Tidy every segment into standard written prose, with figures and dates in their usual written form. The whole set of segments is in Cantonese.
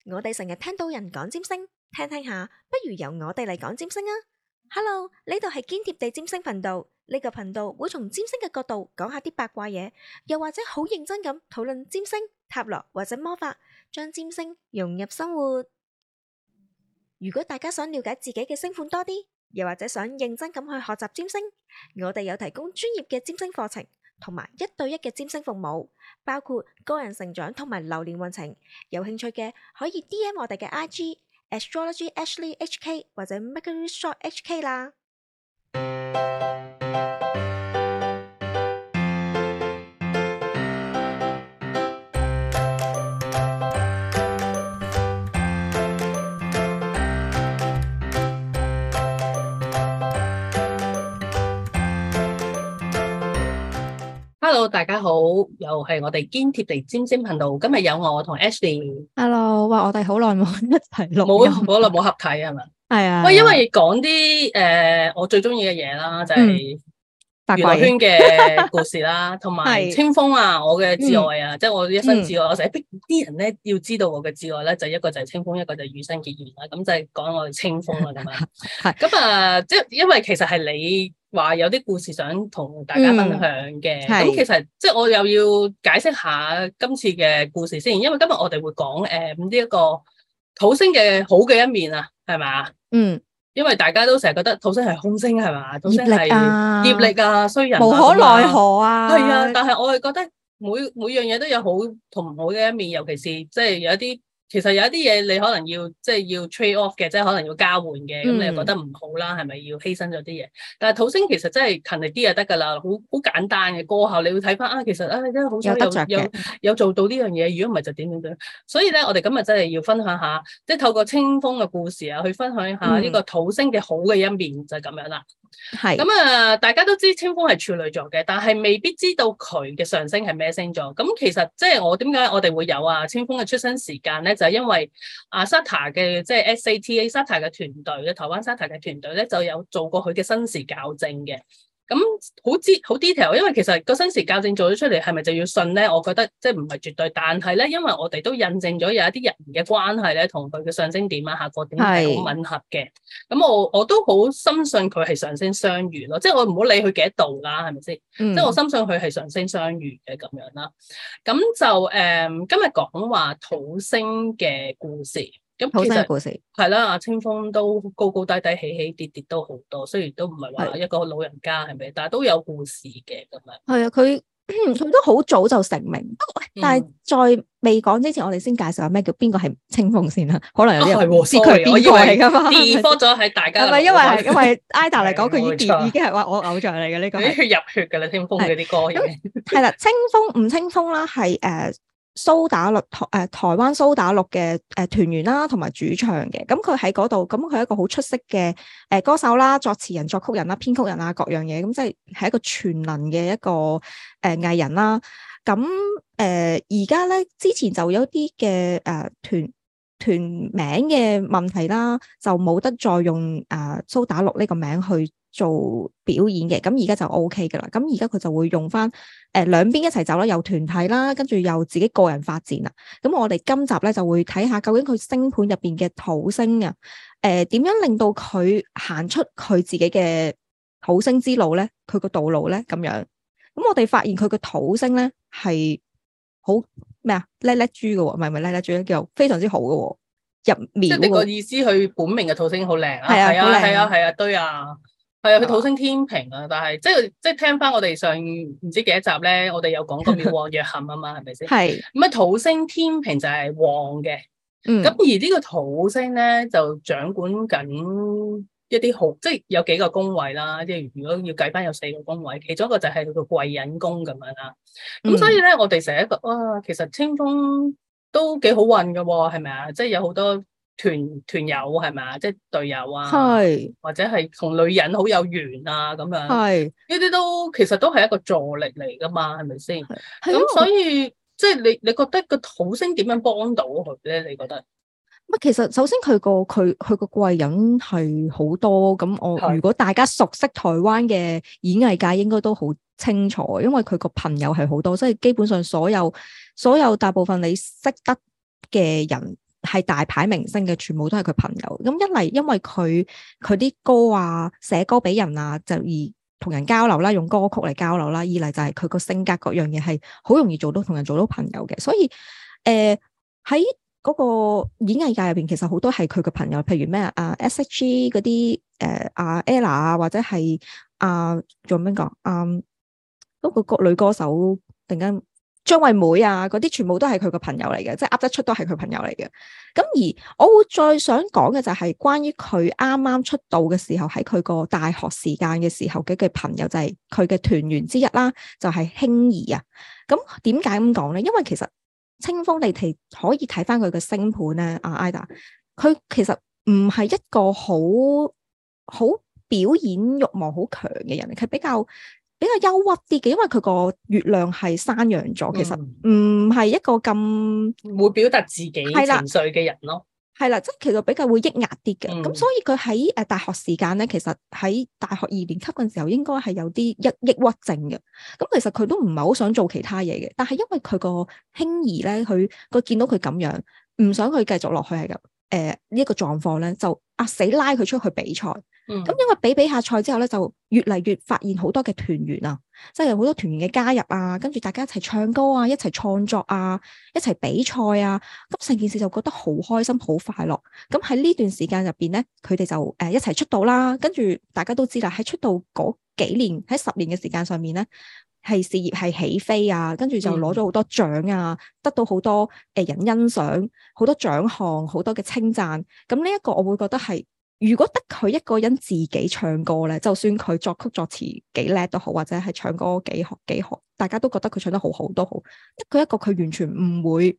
我哋成日聽到人講占星，聽聽下，不如由我哋嚟講占星啊！Hello，呢度係堅貼地占星頻道，呢個頻道會從占星嘅角度講下啲八卦嘢，又或者好認真咁討論占星、塔羅或者魔法，將占星融入生活。如果大家想了解自己嘅星盤多啲，又或者想認真咁去學習占星，我哋有提供專業嘅占星課程，同埋1對1嘅占星服務，包括個人成長同埋流年運程。有興趣嘅可以 DM 我哋嘅 IG Astrology Ashley HK 或者 Mercury Shop HK 啦。 Hello， 大家好，又係我哋堅貼地占星頻道。今日有我同 Ashley。Hello， 哇，我哋好耐冇一齊錄， 好耐冇合體係咪？ 係啊。 喂，因為講啲我最中意嘅嘢啦，就係娛樂圈嘅故事啦，同埋清風啊，我嘅摯愛啊，即係我一生摯愛。我成日逼啲人咧要知道我嘅摯愛咧，就一個就係清風，一個就係羽生結弦啦。咁就係講我哋清風啦咁樣。係咁啊，即係因為其實係你話有啲故事想同大家分享嘅，咁其實即係我又要解釋下今次嘅故事先，因為今日我哋會講呢一個土星嘅好嘅一面啊，係咪？因為大家都成日覺得土星係凶星係嘛，土星係業力啊、衰人啊、 無可奈何啊， 係啊，但係我係覺得每樣嘢都有好同唔好嘅一面，尤其是即係有一啲。其實有一啲嘢你可能要即係要 trade off 嘅，即係可能要交換嘅，咁你又覺得唔好啦，係咪要犧牲咗啲嘢？但係土星其實真係勤力啲就得㗎啦，好簡單嘅過後你會睇翻啊，其實啊真係好想有做到呢樣嘢，如果唔係就點點點。所以咧，我哋今日真係要分享下，即係透過清風嘅故事啊，去分享下呢個土星嘅好嘅一面，就係咁樣啦。係咁啊！大家都知清風係處女座嘅，但係未必知道佢嘅上升係咩星座。咁其實即係點解我哋會有清風嘅出生時間咧？就係因為SATA 嘅即係 SATA SATA 嘅團隊嘅台灣 SATA 嘅團隊咧，就有做過佢嘅生時校正嘅。咁好 detail， 因為其實個生時校正做咗出嚟，係咪就要信咧？我覺得即係唔係絕對，但係咧，因為我哋都印證咗有一啲人嘅關係咧，同佢嘅上升點啊、下個點係好吻合嘅。咁我都好深信佢係上升雙魚咯，即係我唔好理佢幾多度啦，係咪先？即係我深信佢係上升雙魚嘅咁樣啦。咁就今日講話土星嘅故事。咁其實係啦，阿清風都高高低低、起起跌跌都好多，雖然都唔係話一個老人家係咪？但係都有故事嘅咁樣。 係啊，佢都好早就成名。但係在未講之前，我哋先介紹下咩叫邊個係清風先啦。可能有啲人唔知佢係邊個嚟㗎嘛。 default 咗喺大家。 係咪因為 Ida 嚟講，佢已經係話我偶像嚟嘅呢個。 入血㗎啦，清風嗰啲歌已經。 係啦，吳清風啦，係蘇打綠台灣蘇打綠嘅團員啦，同埋主唱嘅。咁佢喺嗰度，咁佢係一個好出色嘅歌手啦、作詞人、作曲人啦、編曲人啊，各樣嘢。咁即係一個全能嘅一個藝人啦。咁而家咧，之前就有啲嘅團名嘅問題啦，就冇得再用蘇打綠呢個名去做表演嘅。咁而家就 OK 噶啦。咁而家佢就會用翻兩邊一齊走啦，有團體啦，跟住又自己個人發展啦。咁我哋今集咧就會睇下究竟佢星盤入邊嘅土星啊，點樣令到佢行出佢自己嘅土星之路咧？佢個道路咧咁樣。咁我哋發現佢個土星咧係好咩啊？叻叻豬嘅喎，唔係叻叻豬，叫非常之好嘅喎，入面。 即係你個意思，佢本命嘅土星好靚啊！ 係啊， 對啊，係啊，佢土星天秤啊，但係即係聽翻我哋上唔知幾多集咧，我哋有講過廟旺弱陷啊嘛，係咪先？係咁啊，土星天秤就係旺嘅，咁而呢個土星咧就掌管緊一啲好，即係有幾個宮位啦，即係如果要計翻有4個宮位，其中一個就係佢個貴人宮咁樣啦。咁所以咧，我哋成日覺得哇，其實清風都幾好運㗎喎，係咪啊？即係有好多團友係咪啊？即係隊友啊，或者係同女人好有緣啊咁樣。係呢啲都其實都係一個助力嚟㗎嘛，係咪先？咁所以即係你覺得個土星點樣幫到佢咧？你覺得？ 其實首先佢個貴人係好多，咁如果大家熟悉台灣嘅演藝界，應該都好清楚，因為佢個朋友係好多，即係基本上所有大部分你識得嘅人係大牌明星嘅，全部都係佢朋友。咁一嚟因為佢啲歌啊，寫歌俾人啊，就而同人交流啦，用歌曲嚟交流啦。二嚟就係佢個性格各樣嘢係好容易同人做到朋友嘅。所以喺嗰個演藝界入邊，其實好多係佢嘅朋友，譬如咩S.H.G 嗰啲Ella 啊，或者係仲有邊個嗰個女歌手突然間張惠妹啊，嗰啲全部都係佢嘅朋友嚟嘅，即係噏得出都係佢朋友嚟嘅。咁而我會再想講嘅就係關於佢啱啱出道嘅時候，喺佢個大學時間嘅時候嘅朋友，就係佢嘅團員之一啦，就係馨儀啊。咁點解咁講咧？因為其實清風你哋可以睇翻佢嘅星盤咧，Ida，佢其實唔係一個好表演欲望好強嘅人，佢比較憂鬱啲嘅，因為佢個月亮係山羊座，其實唔係一個咁會表達自己情緒嘅人咯。 係啦，即係其實比較會抑壓啲嘅。咁所以佢喺大學時間咧，其實喺大學2年級嘅時候，應該係有啲抑鬱症嘅。咁其實佢都唔係好想做其他嘢嘅，但係因為佢個馨儀咧，佢見到佢咁樣，唔想佢繼續落去係咁呢個狀況咧，就死拉佢出去比賽。咁因為比下賽之後咧，就越嚟越發現好多嘅團員啊，即係有好多團員嘅加入啊，跟住大家一齊唱歌啊，一齊創作啊，一齊比賽啊，咁成件事就覺得好開心、好快樂。咁喺呢段時間入邊咧，佢哋就一齊出道啦。跟住大家都知啦，喺出道嗰幾年，喺10年嘅時間上面咧，係事業係起飛啊，跟住就攞咗好多獎啊，得到好多人欣賞，好多獎項，好多嘅稱讚。咁呢一個我會覺得係。如果得佢一個人自己唱歌咧，就算佢作曲作詞幾叻都好，或者係唱歌幾好，大家都覺得佢唱得好好都好，得佢一個佢完全唔會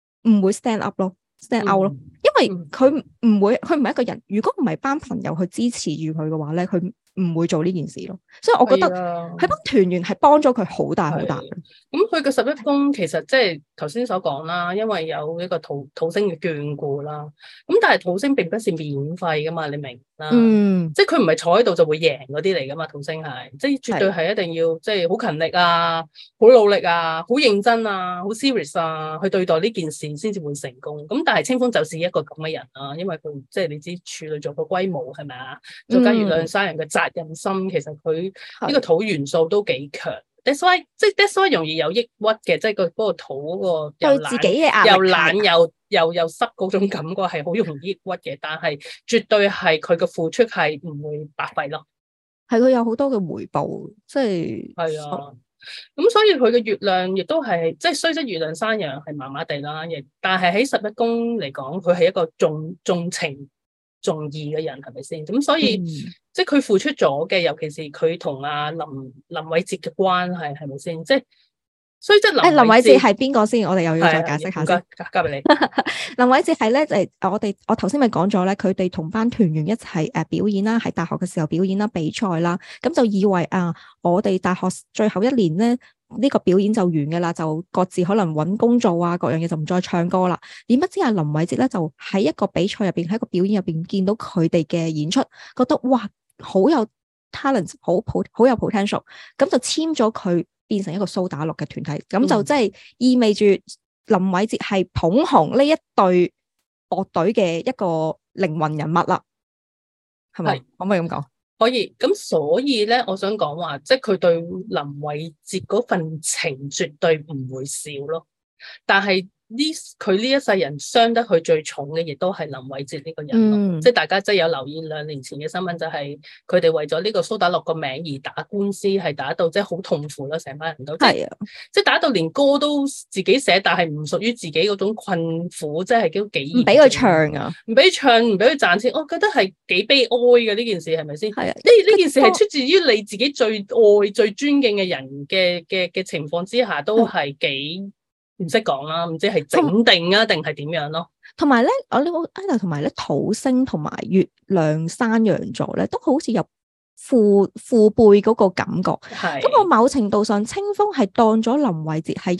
stand up 咯，stand out 咯，因為佢唔係一個人，如果唔係班朋友去支持住佢嘅話咧，佢唔會做呢件事咯。所以我覺得佢班團員係幫咗佢好大好大。 咁佢嘅11宮其實即係頭先所講啦，因為有一個土星嘅眷顧啦。咁但係土星並不是免費噶嘛，你明啦？即係佢唔係坐喺度就會贏嗰啲嚟噶嘛，土星係即係絕對係一定要即係好勤力啊，好努力啊，好認真啊，好 serious 啊，去對待呢件事先至會成功。咁但係清風就是一個咁嘅人啊，因為佢即係你知處女座個龜毛係咪啊？再加月亮山人嘅責任心，其實佢呢個土元素都幾強。That's why 容易有抑鬱嘅，即係嗰個土嗰個對自己嘅壓力又懶又濕嗰種感覺係好容易抑鬱嘅，但係絕對係佢嘅付出係唔會白費咯， 係佢有好多嘅回報，即係啊。咁所以佢嘅月亮亦都係即係雖則月亮山羊係麻麻地啦，亦但係喺11宮嚟講，佢係一個重情重義嘅人，係咪先？咁所以即係佢付出咗嘅，尤其是佢同阿林偉哲嘅關係，係咪先？即係所以即係林偉哲係邊個先？我哋又要再解釋下先。交俾你。 林偉哲係咧，我頭先咪講咗咧，佢哋同班團員一齊表演啦，喺大學嘅時候表演啦，比賽啦，咁就以為我哋大學最後1年咧。呢個表演就完嘅啦，就各自可能揾工做啊，各樣嘢就唔再唱歌啦。點不知林偉哲咧就喺一個比賽入邊，喺一個表演入邊見到佢哋嘅演出，覺得哇好有 talent， 好有 potential， 咁就簽咗佢變成一個蘇打綠嘅團體，咁就即係意味住林偉哲係捧紅呢一隊樂隊嘅一個靈魂人物啦，係咪？可唔可以咁講？ 可以，咁所以咧，我想講話，即係佢對林偉哲嗰份情絕對唔會少咯，但係佢呢一世人傷得佢最重嘅，亦都係林偉哲呢個人咯。即係大家即係有留意2年前嘅新聞，就係佢哋為咗呢個蘇打綠個名而打官司，係打到即係好痛苦咯，成班人都係啊，即係打到連歌都自己寫，但係唔屬於自己嗰種困苦，即係幾唔俾佢唱啊，唔俾佢唱，唔俾佢賺錢，我覺得係幾悲哀嘅呢件事，係咪先？係啊，呢件事係出自於你自己最愛、最尊敬嘅人嘅情況之下，都係幾。唔識講啦，唔知係整定啊定係點樣咯。 同埋咧，同埋咧，土星同埋月亮山羊座咧，都好似有父輩嗰個感覺。係咁，我某程度上，清風係當咗林偉哲係一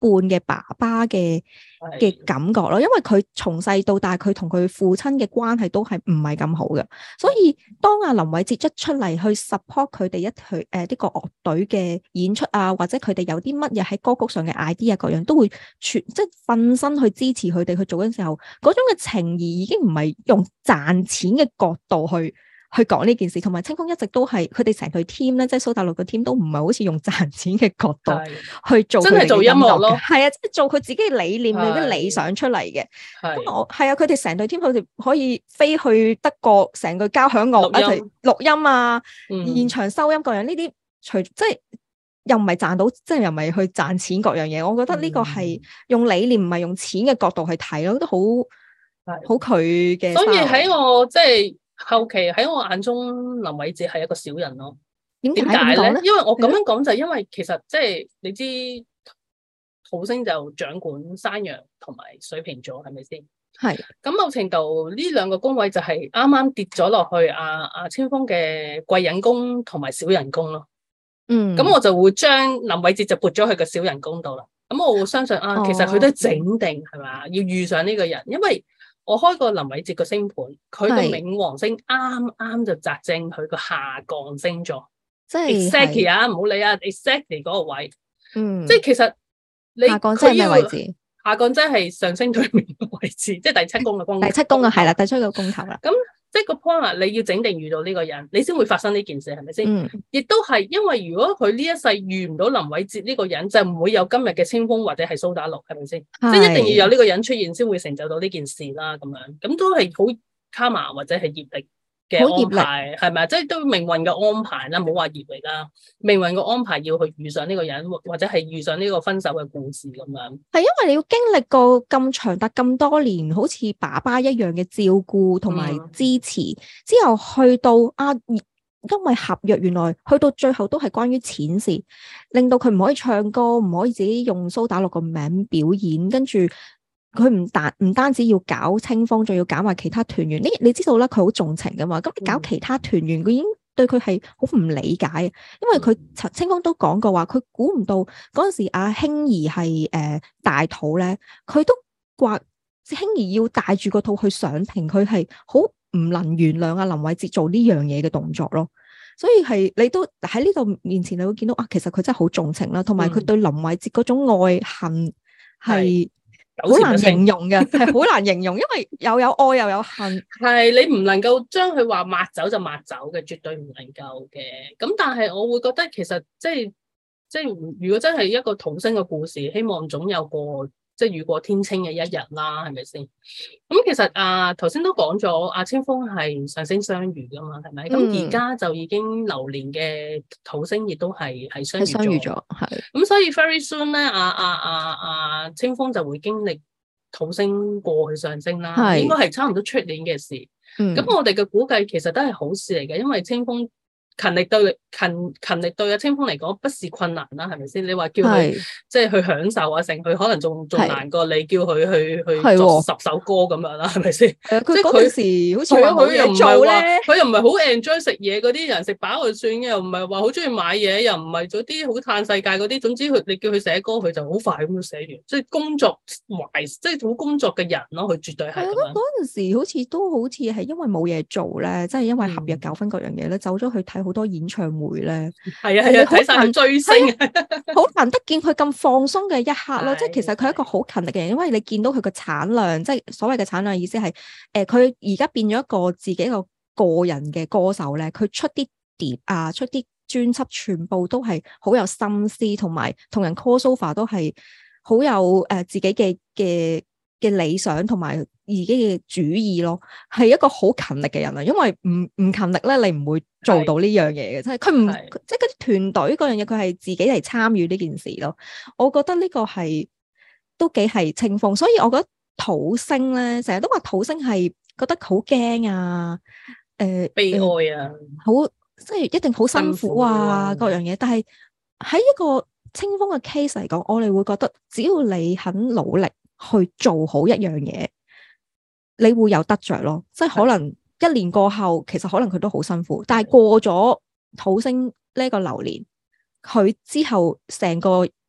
嘅爸爸嘅感覺咯，因為佢從細到大佢同佢父親嘅關係都係唔係咁好嘅，所以當阿林偉哲一出嚟去 support 佢哋呢個樂隊嘅演出啊，或者佢哋有啲乜嘢喺歌曲上嘅 idea 各樣都會即係瞓身去支持佢哋去做嘅時候，嗰種嘅情誼已經唔係用賺錢嘅角度去講呢件事，同埋清風一直都係佢哋成隊 team 咧，即係蘇打綠嘅 team 都唔係好似用賺錢嘅角度去做， 真係做音樂咯， 係啊，即係做佢自己嘅理念、佢啲理想出嚟嘅。咁我係啊，佢哋成隊 team 佢哋可以飛去德國，成個交響樂一齊錄音啊，現場收音各樣呢啲，即係又唔係賺到，即係又唔係去賺錢各樣嘢。我覺得呢個係用理念唔係用錢嘅角度去睇咯，都好佢嘅。 所以喺我即係。後期喺我眼中，林偉哲係一個小人咯。點解咧？因為我咁樣講就係因為其實即係你知土星就掌管山羊同埋水瓶座，係咪先？ 係。咁某程度呢兩個宮位就係啱啱跌咗落去阿清風嘅貴人宮同埋小人宮咯。咁我就會將林偉哲就撥咗去個小人宮度啦。咁我會相信其實佢都整定係嘛，要遇上呢個人，因為。我開過林偉哲個星盤，佢個冥王星啱啱就擲正佢個下降星座，即係 exactly 啊，唔好理啊 ，exactly 嗰個位，即係其實你下降即係咩位置？ 下降即係上升對面嘅位置，即係第七宮嘅宮。 第七宮啊，係啦，第七個宮頭啦。 咁即係個 point 你要整定遇到呢個人，你先會發生呢件事，係咪先？亦都係因為如果佢呢一世遇唔到林偉哲呢個人，就唔會有今日嘅清風或者係蘇打綠，係咪先？即係一定要有呢個人出現，先會成就到呢件事啦。咁樣咁都係好卡瑪或者係業力嘅安排，係咪？即係都命運嘅安排啦，唔好話業力啦，命運嘅安排要去遇上呢個人，或者係遇上呢個分手嘅故事咁樣。 係因為你要經歷過咁長達咁多年，好似爸爸一樣嘅照顧同埋支持，之後去到因為合約原來去到最後都係關於錢事，令到佢唔可以唱歌，唔可以自己用蘇打綠個名表演，跟住。佢唔單止要搞清風，仲要搞埋其他團員。你知道啦，佢好重情噶嘛。咁你搞其他團員，佢已經對佢係好唔理解。因為佢清風都講過話，佢估唔到嗰陣時阿興兒係大肚咧，佢都話興兒要帶住個肚去上庭，佢係好唔能原諒阿林偉哲做呢樣嘢嘅動作咯。所以係你都喺呢度面前，你會見到其實佢真係好重情啦，同埋佢對林偉哲嗰種愛恨係。好難形容嘅，係好難形容，因為又有愛又有恨， 係你唔能夠將佢話抹走就抹走嘅，絕對唔能夠嘅。咁但係我會覺得其實即係如果真係一個土星嘅故事，希望總有個即係雨過天青嘅一日啦，係咪先？咁其實頭先都講咗，阿清風係上升雙魚噶嘛，係咪？咁而家就已經流年嘅土星亦都係雙魚咗，係。咁所以 very soon 咧，清風就會經歷土星過去上升啦，應該係差唔多出年嘅事。咁我哋嘅估計其實都係好事嚟嘅，因為清風。勤力對阿清風嚟講不是困難啦，係咪先？你話叫佢即係去享受啊，成佢可能仲難過你叫佢去作10首歌咁樣啦，係咪先？ 佢嗰陣時好似佢又唔係話佢又唔係好 enjoy 食嘢嗰啲人，食飽就算嘅，又唔係話好中意買嘢，又唔係嗰啲好嘆世界嗰啲。總之你叫佢寫歌，佢就好快咁樣寫完。即係工作懷，即係好工作嘅人咯，佢絕對係。 嗰陣時好似係因為冇嘢做咧，即係因為合約糾紛各樣嘢咧，走咗去睇好多演唱會咧， 係啊，睇晒佢追星， 好難得見佢咁放鬆嘅一刻咯。即係其實佢係一個好勤力嘅人，因為你見到佢個產量，即係所謂嘅產量意思係，佢而家變咗一個自己一個個人嘅歌手咧，佢出啲碟啊，出啲專輯，全部都係好有心思，同埋同人 call sofa 都係好有自己嘅理想同埋自己嘅主意咯，係一個好勤力嘅人啊！因為唔勤力咧，你唔會做到呢樣嘢嘅，即係佢唔即係嗰啲團隊嗰樣嘢，佢係自己嚟參與呢件事咯。我覺得呢個係都幾係清風，所以我覺得土星咧，成日都話土星係覺得好驚啊， 悲哀啊， 好即係一定好辛苦啊，各樣嘢。但係喺一個清風嘅 case 嚟講，我哋會覺得只要你肯努力去做好一樣嘢，你會有得着咯。即係可能1年過後，其實可能佢都好辛苦，但係過咗土星呢個流年，佢之後成個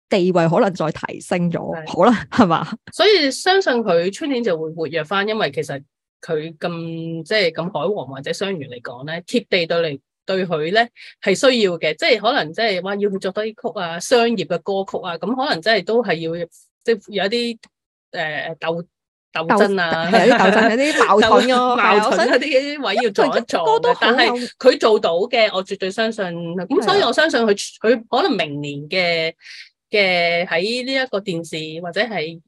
地位可能再提升咗， 係好啦，係嘛？ 所以相信佢出年就會活躍翻，因為其實佢咁即係咁海王或者雙魚嚟講咧，貼地對佢咧係需要嘅，即係可能即係話要佢作多啲曲啊，商業嘅歌曲啊，咁可能真係都係要即係有一啲鬥爭啊， 係有啲鬥爭，有啲矛盾咯， 矛盾嗰啲位要撞一撞嘅，但係佢做到嘅，我絕對相信。咁所以我相信佢可能明年嘅喺呢一個電視或者係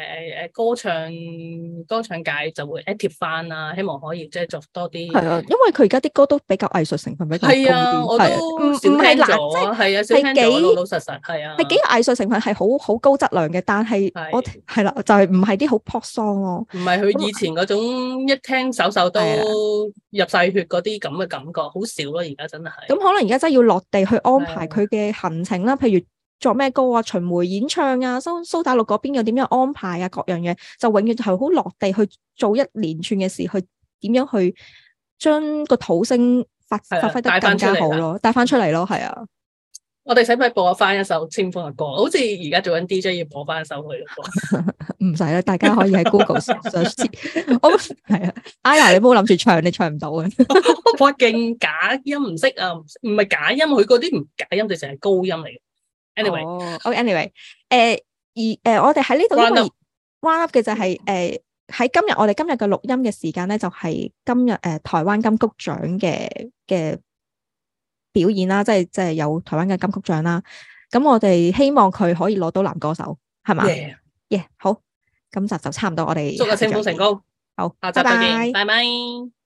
歌唱界就會 active 翻啦，希望可以即係作多啲。 係啊，因為佢而家啲歌都比較藝術成分比較高啲。 係啊，我都少聽咗，係啊，少聽咗，老老實實係啊， 係幾個藝術成分係好高質量嘅，但係我係啦，就係唔係啲好 pop song 咯， 唔係佢以前嗰種一聽首都入晒血嗰啲咁嘅感覺，好少咯，而家真係。 咁可能而家真係要落地去安排佢嘅行程啦，譬如作咩歌啊、巡迴演唱啊、蘇打綠嗰邊又點樣安排啊，各樣嘢就永遠係好落地去做一連串嘅事，去點樣去將個土星發揮得更加好咯，帶翻出嚟咯，係啊。 我哋使唔使播翻一首清風嘅歌？好似而家做緊 DJ 要播翻一首佢嘅歌。 唔使啦，大家可以喺 Google search。我係啊，Aya 你唔好諗住唱，你唱唔到嘅。 哇，勁假音唔識啊，唔係假音，佢嗰啲唔假音，就成係高音嚟嘅。 anyway，我哋喺呢度因為 round up 嘅就係喺我哋今日嘅錄音嘅時間咧，就係今日台灣金曲獎嘅表演啦，即係有台灣嘅金曲獎啦。咁我哋希望佢可以攞到男歌手，係嘛？Yeah，好，今集就差唔多，我哋祝個清風成功。 好， 下集再見，拜拜。